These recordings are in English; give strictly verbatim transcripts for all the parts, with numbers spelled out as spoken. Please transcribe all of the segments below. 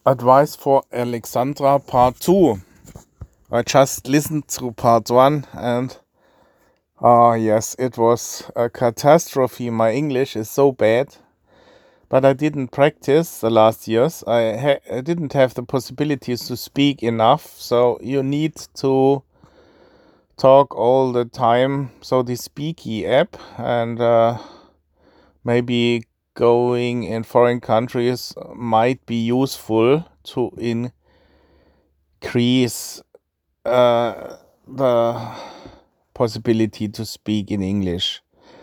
Advice for Alexandra part two. I just listened to part one and ah yes, it was a catastrophe. My English is so bad, but I didn't practice the last years. I, ha- I didn't have the possibilities to speak enough, so you need to talk all the time. So the Speaky app and uh, maybe going in foreign countries might be useful to increase uh, the possibility to speak in English.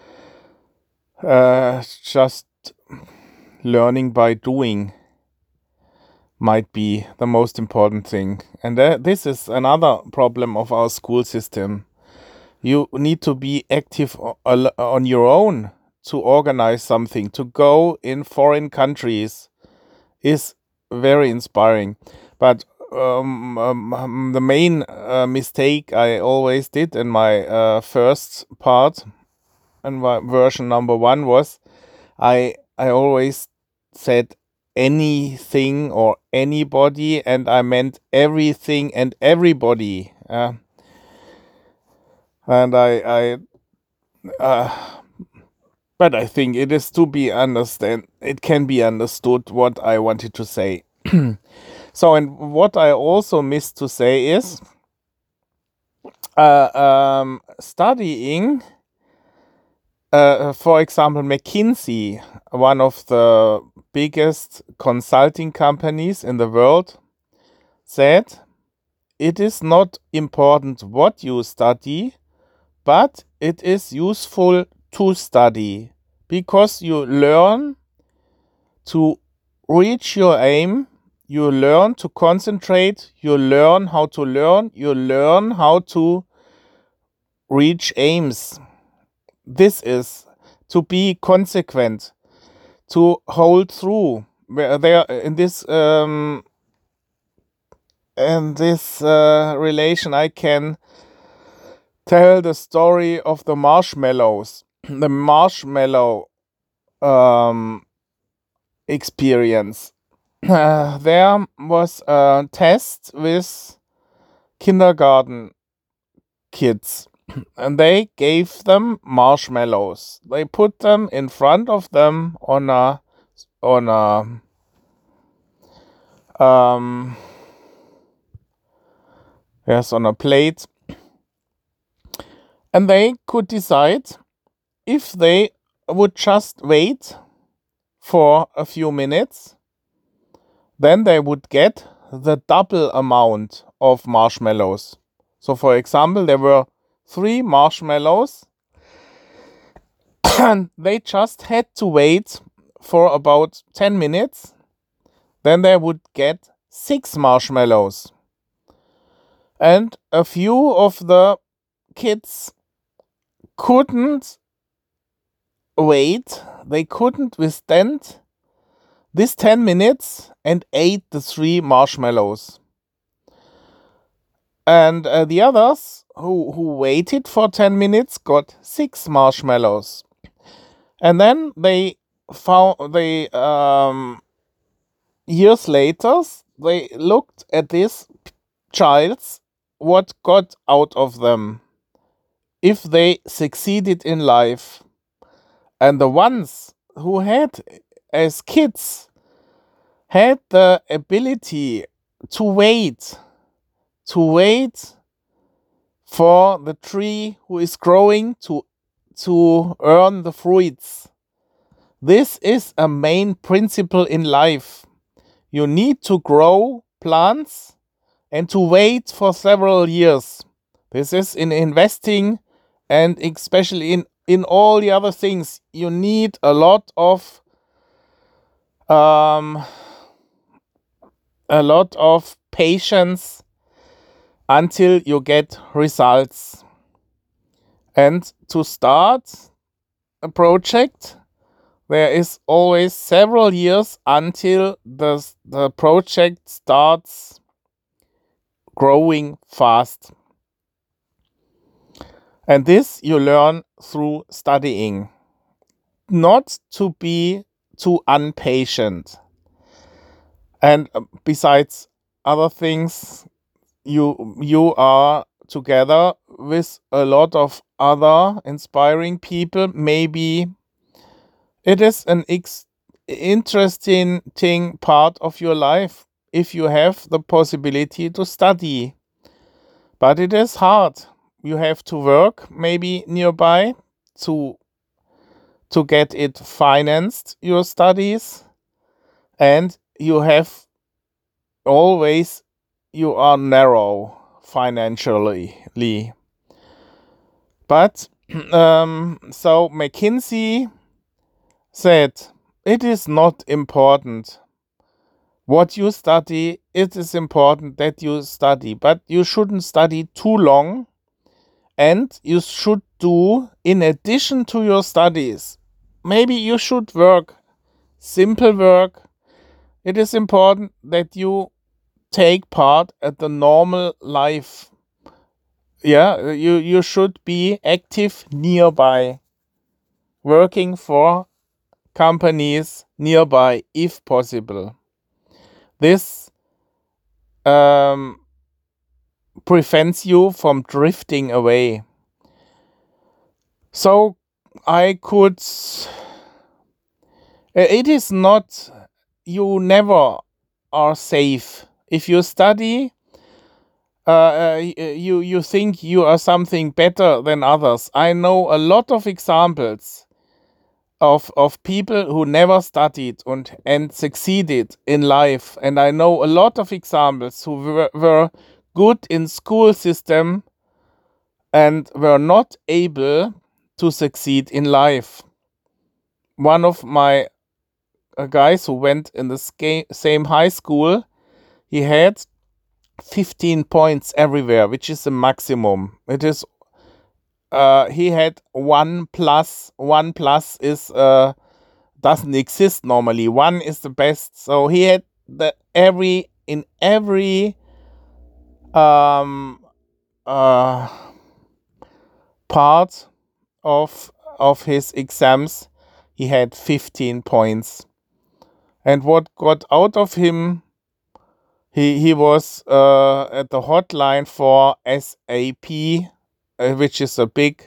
Uh, just learning by doing might be the most important thing. And uh, this is another problem of our school system. You need to be active o- al- on your own to organize something. To go in foreign countries is very inspiring. But um, um, um, the main uh, mistake I always did in my uh, first part and my version number one was I I always said anything or anybody, and I meant everything and everybody. Uh, and I I uh, but I think it is to be understand. It can be understood what I wanted to say. So, and what I also missed to say is uh, um, studying, uh, for example, McKinsey, one of the biggest consulting companies in the world, said it is not important what you study, but it is useful to study because you learn to reach your aim. You learn to concentrate, you learn how to learn, you learn how to reach aims. This is to be consequent, to hold through. Where there in this um, in this uh, relation, I can tell the story of the marshmallows, the marshmallow um, experience. Uh, there was a test with kindergarten kids, and they gave them marshmallows. They put them in front of them on a on a um yes on a plate, and they could decide if they would just wait for a few minutes, then they would get the double amount of marshmallows. So, for example, there were three marshmallows, and they just had to wait for about ten minutes. Then they would get six marshmallows. And a few of the kids couldn't wait, they couldn't withstand this ten minutes and ate the three marshmallows. And uh, the others who, who waited for ten minutes got six marshmallows. And then they found, they, um, years later, they looked at these childs, what got out of them, if they succeeded in life. And the ones who had, as kids, had the ability to wait, to wait for the tree who is growing to, to earn the fruits. This is a main principle in life. You need to grow plants and to wait for several years. This is in investing and especially in, in all the other things. You need a lot of um, a lot of patience until you get results. And to start a project, there is always several years until the, the project starts growing fast. And this you learn through studying. Not to be too impatient. And uh, besides other things, you you are together with a lot of other inspiring people. Maybe it is an ex- interesting thing part of your life if you have the possibility to study. But it is hard. You have to work maybe nearby to to get it financed, your studies, and you have always you are narrow financially. But um, so McKinsey said it is not important what you study. It is important that you study, but you shouldn't study too long, and you should do in addition to your studies. Maybe you should work simple work. It is important that you take part at the normal life. Yeah, you you should be active nearby, working for companies nearby if possible. This um, prevents you from drifting away. So I could. It is not. You never are safe if you study. Uh, uh, you you think you are something better than others. I know a lot of examples of of people who never studied and and succeeded in life, and I know a lot of examples who were, were good in school system and were not able to succeed in life. One of my uh, guys who went in the sca- same high school, he had fifteen points everywhere, which is the maximum. It is uh he had one plus. One plus is uh doesn't exist normally. One is the best. So he had the every in every um uh part of of his exams he had fifteen points. And what got out of him, he he was uh at the hotline for S A P, uh, which is a big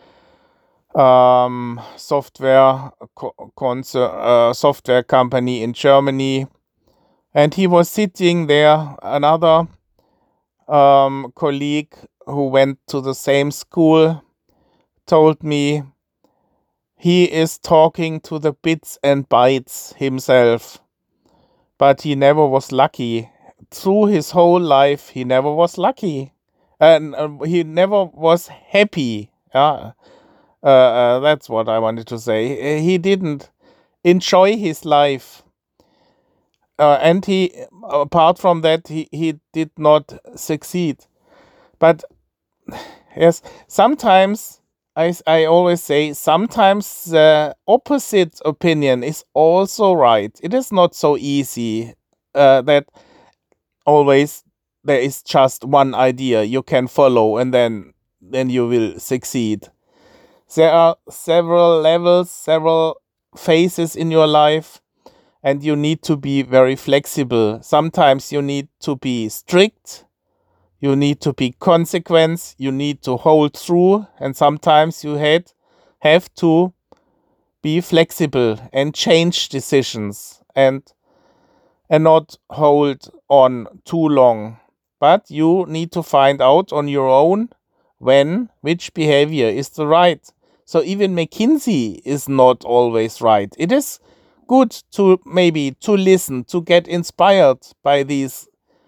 um software co- concern, uh, software company in Germany. And he was sitting there. Another um, colleague who went to the same school told me he is talking to the bits and bytes himself, but he never was lucky. Through his whole life, he never was lucky, and uh, he never was happy. Yeah, uh, uh, that's what I wanted to say. He didn't enjoy his life. Uh, and he, apart from that, he, he did not succeed. But yes, sometimes I, I always say sometimes the opposite opinion is also right. It is not so easy uh, that always there is just one idea you can follow and then then you will succeed. There are several levels, several phases in your life, and you need to be very flexible. Sometimes you need to be strict, you need to be consequent, you need to hold through, and sometimes you had have to be flexible and change decisions and and not hold on too long. But you need to find out on your own when which behavior is the right. So even McKinsey is not always right. It is good to maybe to listen, to get inspired by these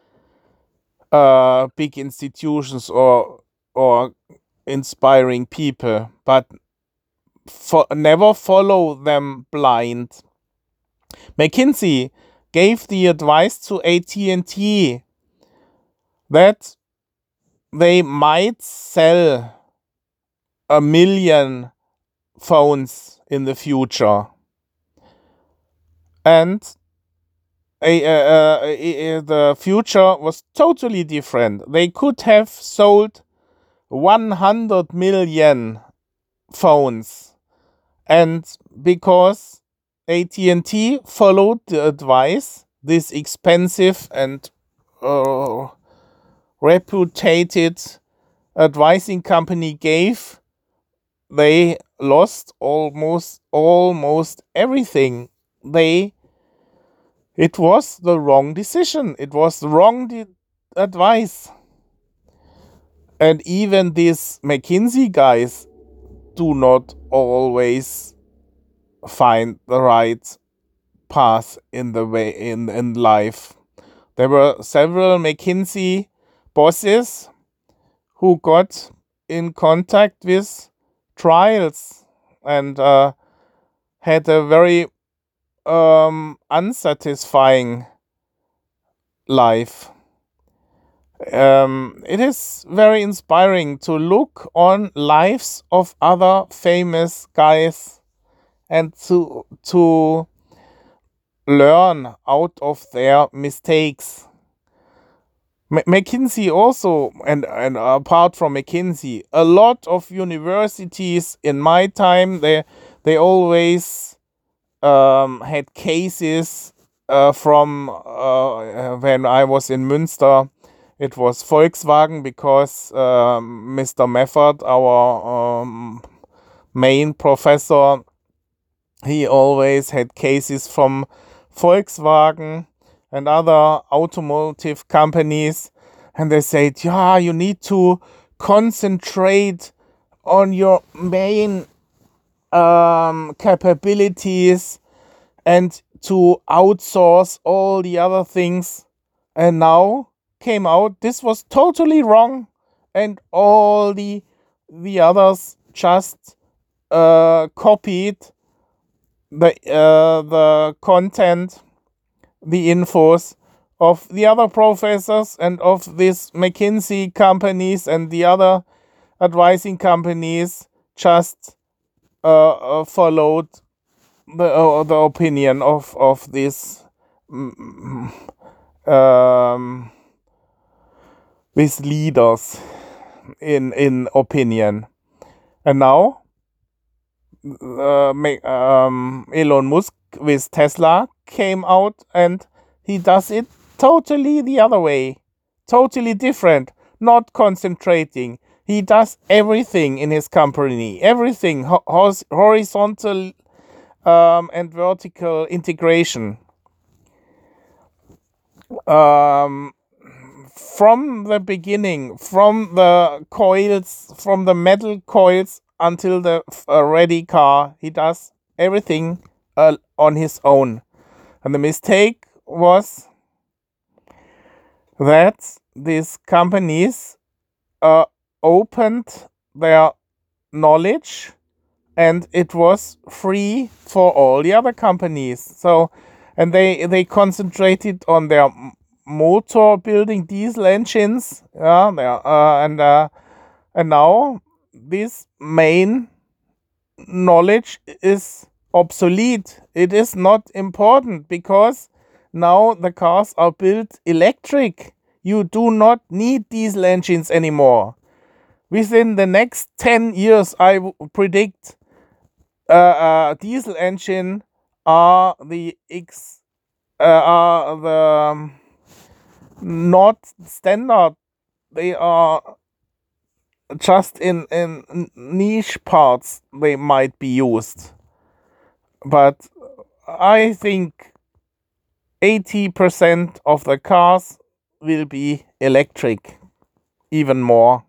uh, big institutions or or inspiring people, but for, never follow them blind. McKinsey gave the advice to A T and T that they might sell a million phones in the future. And uh, uh, uh, the future was totally different. They could have sold one hundred million phones. And because A T and T followed the advice, this expensive and uh, reputed advising company gave, they lost almost almost everything. They it was the wrong decision. It was the wrong de- advice. And even these McKinsey guys do not always find the right path in the way in, in life. There were several McKinsey bosses who got in contact with trials and uh, had a very um, unsatisfying life. Um, it is very inspiring to look on lives of other famous guys and to to learn out of their mistakes. M- McKinsey also, and, and apart from McKinsey, a lot of universities in my time, they they always um, had cases uh, from uh, when I was in Münster. It was Volkswagen because um, Mister Meffert, our um, main professor, he always had cases from Volkswagen and other automotive companies, and they said, yeah, you need to concentrate on your main um, capabilities and to outsource all the other things. And now came out this was totally wrong, and all the the others just uh, copied the uh, the content, the infos of the other professors and of these McKinsey companies and the other advising companies just uh, uh, followed the uh, the opinion of of these mm, um, these leaders in in opinion. And now uh, um, Elon Musk with Tesla came out and he does it totally the other way, totally different, not concentrating. He does everything in his company, everything ho- hos- horizontal um, and vertical integration. Um, from the beginning, from the coils, from the metal coils until the uh, ready car, he does everything uh, on his own. And the mistake was that these companies uh, opened their knowledge and it was free for all the other companies. So, and they they concentrated on their motor building diesel engines, yeah, uh, and uh, and now this main knowledge is obsolete. It is not important because now the cars are built electric. You do not need diesel engines anymore. Within the next ten years, I w- predict uh, uh, diesel engine are the X uh, are the um, not standard. They are just in in niche parts they might be used, but I think eighty percent of the cars will be electric, even more.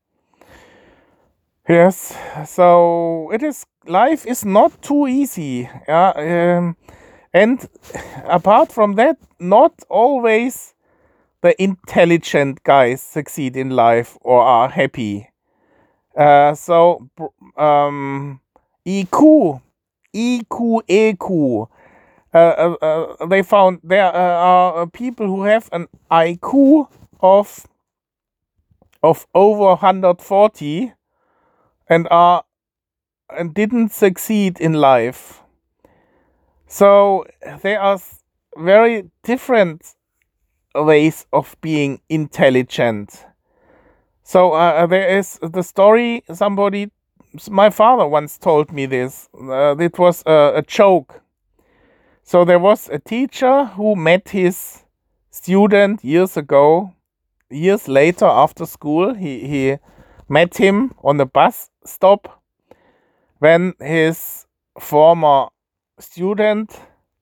Yes, so it is life is not too easy. Yeah, um, and apart from that, not always the intelligent guys succeed in life or are happy. Uh, so um, E Q, E Q, E Q. Uh, uh, uh, they found there uh, are people who have an I Q of of over one hundred forty and are and didn't succeed in life. So there are very different ways of being intelligent. So uh, there is the story. Somebody, my father once told me this. Uh, it was a, a joke. So there was a teacher who met his student years ago, years later after school. He, he met him on the bus stop when his former student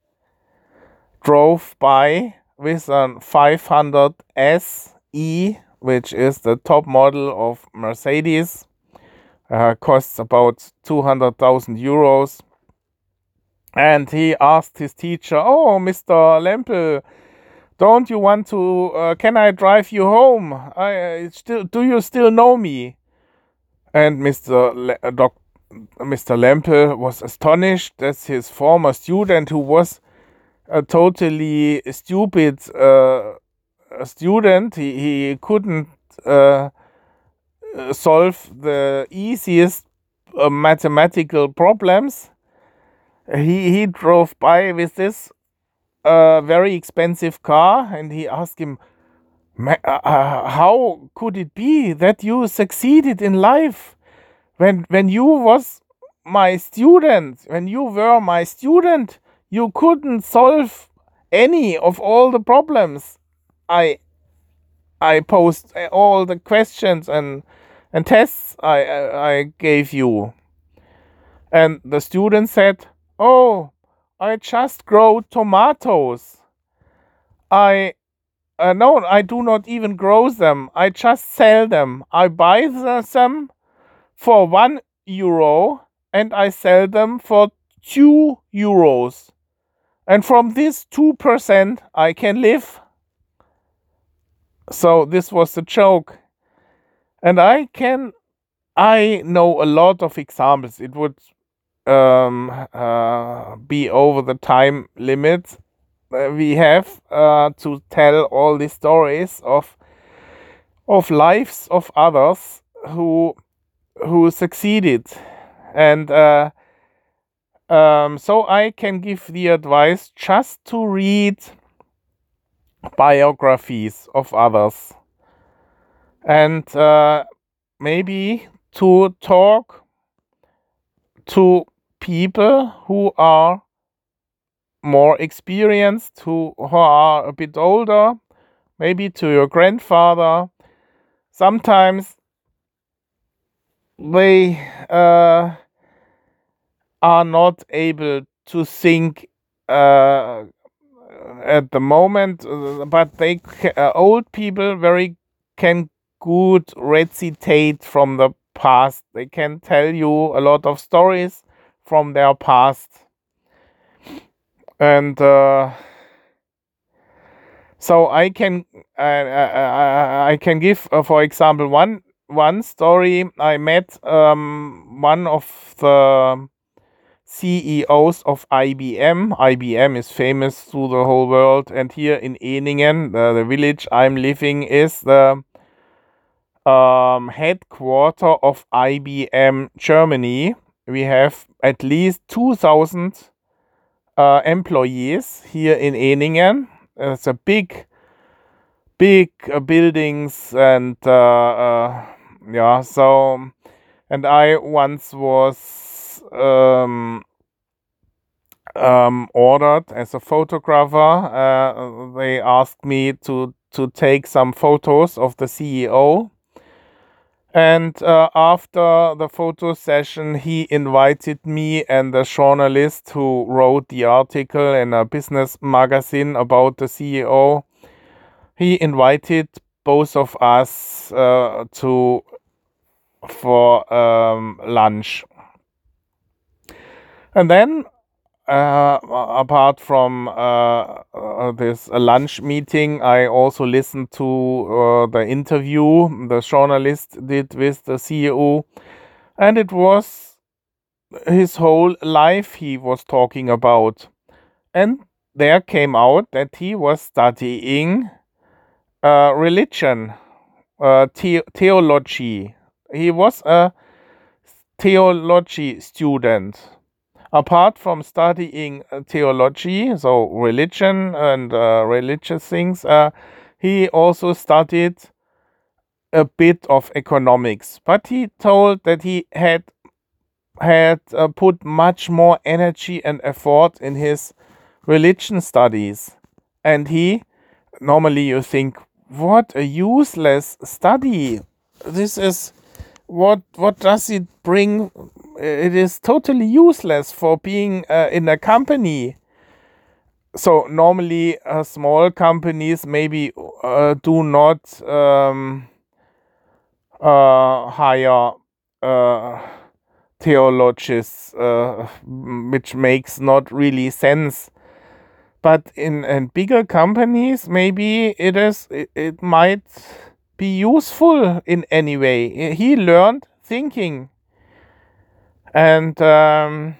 drove by with a five hundred S E, which is the top model of Mercedes. Uh, costs about two hundred thousand euros. And he asked his teacher, "Oh, Mister Lempel, don't you want to, uh, can I drive you home? I uh, still, do you still know me?" And Mister Le- uh, Doc- Mister Lempel was astonished that his former student, who was a totally stupid uh, student, he, he couldn't uh, solve the easiest uh, mathematical problems. He, he drove by with this uh, very expensive car, and he asked him, "Ma- uh, uh, how could it be that you succeeded in life when when you was my student, when you were my student, you couldn't solve any of all the problems I I posed, uh, all the questions and and tests I I I gave you." And the student said, "Oh, I just grow tomatoes. I uh, no, I do not even grow them. I just sell them. I buy the- them for one euro and I sell them for two euros. And from this two percent, I can live." So this was the joke. And I can, I know a lot of examples. It would um, uh, be over the time limit uh, we have uh, to tell all these stories of of lives of others who who succeeded. And uh, um, so I can give the advice just to read biographies of others, and uh, maybe to talk to people who are more experienced, who, who are a bit older, maybe to your grandfather. Sometimes they uh, are not able to think uh, at the moment, uh, but they ca- uh, old people very can good recitate from the past. They can tell you a lot of stories from their past, and uh, so I can uh, I, I can give, uh, for example, one one story. I met um, one of the C E Os of I B M. I B M is famous through the whole world, and here in Eningen, the, the village I'm living, is the um, headquarter of I B M Germany. We have at least two thousand uh, employees here in Eningen. It's a big, big uh, buildings, and uh, uh, yeah. So, and I once was um, um, ordered as a photographer. Uh, they asked me to to take some photos of the C E O. And uh, after the photo session, he invited me and the journalist who wrote the article in a business magazine about the C E O. He invited both of us uh, to for um, lunch. And then, uh, apart from uh, uh, this uh, lunch meeting, I also listened to uh, the interview the journalist did with the C E O, and it was his whole life he was talking about. And there came out that he was studying uh, religion, uh, the- theology. He was a theology student. Apart from studying uh, theology, so religion and uh, religious things, uh, he also studied a bit of economics. But he told that he had had uh, put much more energy and effort in his religion studies. And he, normally you think, what a useless study. This is, what, what does it bring? It is totally useless for being uh, in a company. So normally uh, small companies maybe uh, do not um, uh, hire uh, theologians, uh, which makes not really sense. But in, in bigger companies, maybe it is it, it might be useful in any way. He learned thinking, and um,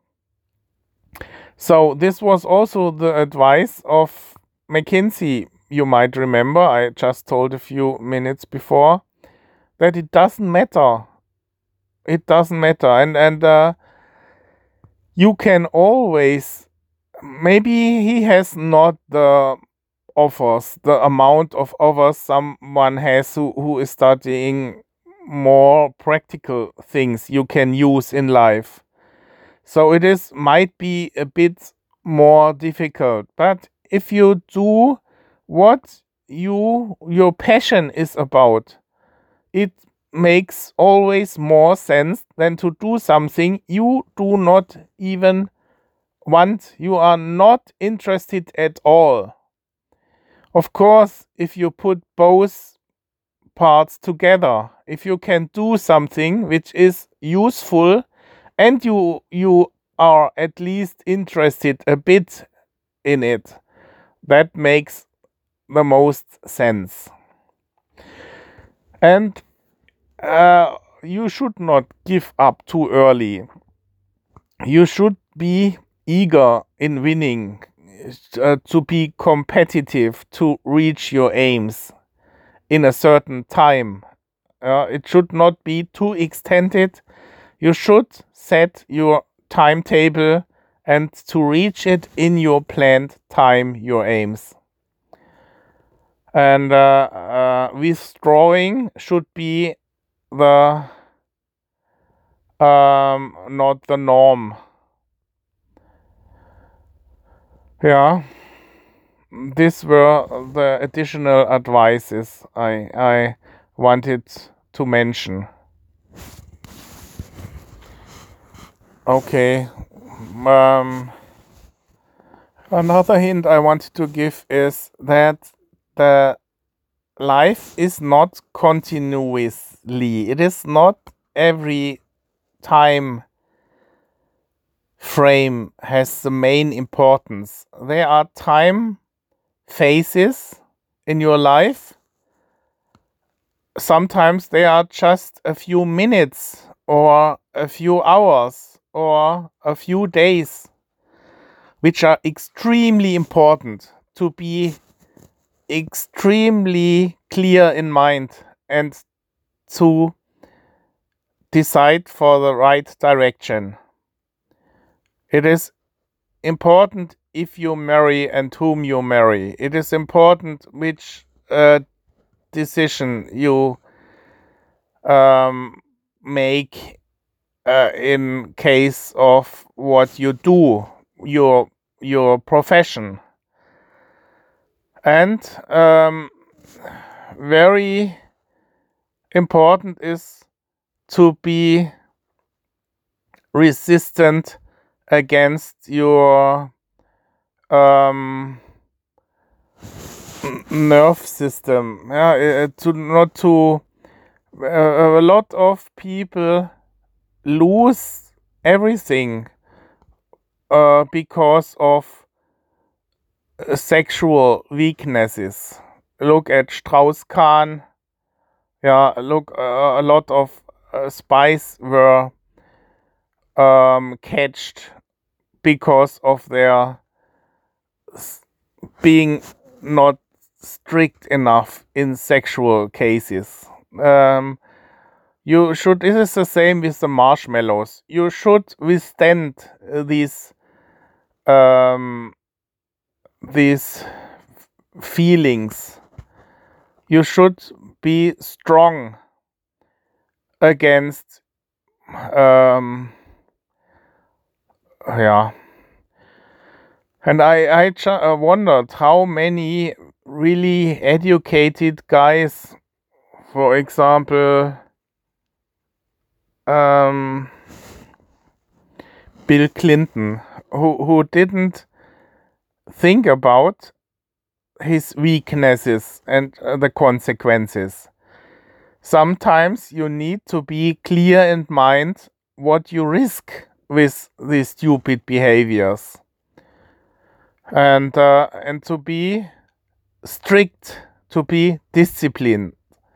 so this was also the advice of McKinsey. You might remember, I just told a few minutes before, that it doesn't matter. It doesn't matter, and and uh, you can always. Maybe he has not the offers, the amount of offers someone has who, who is studying more practical things you can use in life. So it is might be a bit more difficult. But if you do what you your passion is about, it makes always more sense than to do something you do not even want, you are not interested at all. Of course, if you put both parts together, if you can do something which is useful and you you are at least interested a bit in it, that makes the most sense. And uh, you should not give up too early. You should be eager in winning, uh, to be competitive, to reach your aims in a certain time. Uh, it should not be too extended. You should set your timetable and to reach it in your planned time, your aims. And uh, uh, withdrawing should be the um, not the norm. Yeah. These were the additional advices I I wanted to mention. Okay. Um, another hint I want to give is that the life is not continuously. It is not every time frame has the main importance. There are time phases in your life. Sometimes they are just a few minutes or a few hours or a few days, which are extremely important to be extremely clear in mind and to decide for the right direction. It is important if you marry and whom you marry. It is important which uh, decision you um, make uh, in case of what you do, your your profession. And um, very important is to be resistant against your um, nerve system. Yeah, uh, to not to uh, a lot of people lose everything uh, because of uh, sexual weaknesses. Look at Strauss-Kahn. Yeah, look, uh, a lot of uh, spies were um, catched because of their s- being not strict enough in sexual cases. Um, you should. It is the same with the marshmallows. You should withstand uh, these um, these feelings. You should be strong against um, yeah. And I, I ju- uh, wondered how many really educated guys, for example, um, Bill Clinton, who, who didn't think about his weaknesses and uh, the consequences. Sometimes you need to be clear in mind what you risk with these stupid behaviors, and uh, and to be strict, to be disciplined.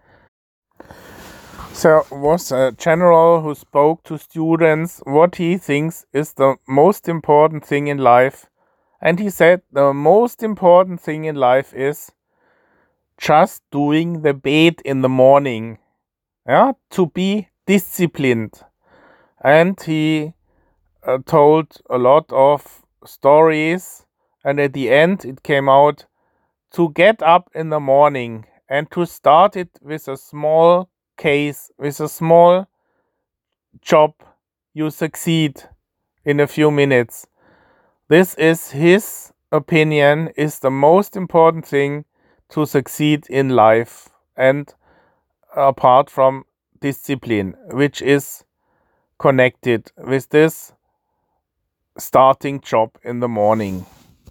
There was a general who spoke to students what he thinks is the most important thing in life, and he said the most important thing in life is just doing the bed in the morning, yeah, to be disciplined. And he uh, told a lot of stories, and at the end it came out to get up in the morning and to start it with a small case, with a small job, you succeed in a few minutes. This is his opinion, is the most important thing to succeed in life, and apart from discipline, which is connected with this starting job in the morning.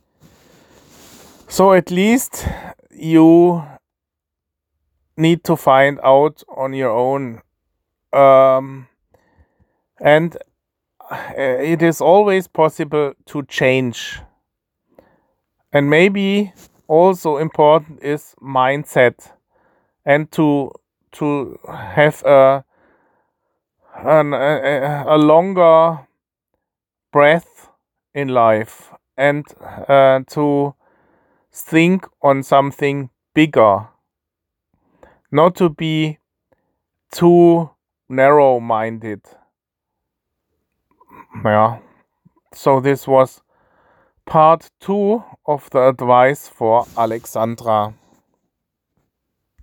So at least you need to find out on your own. Um, and it is always possible to change. And maybe also important is mindset, and to to have a an, a, a longer breath in life, and uh, to think on something bigger, not to be too narrow-minded. Yeah. So this was part two of the advice for Alexandra.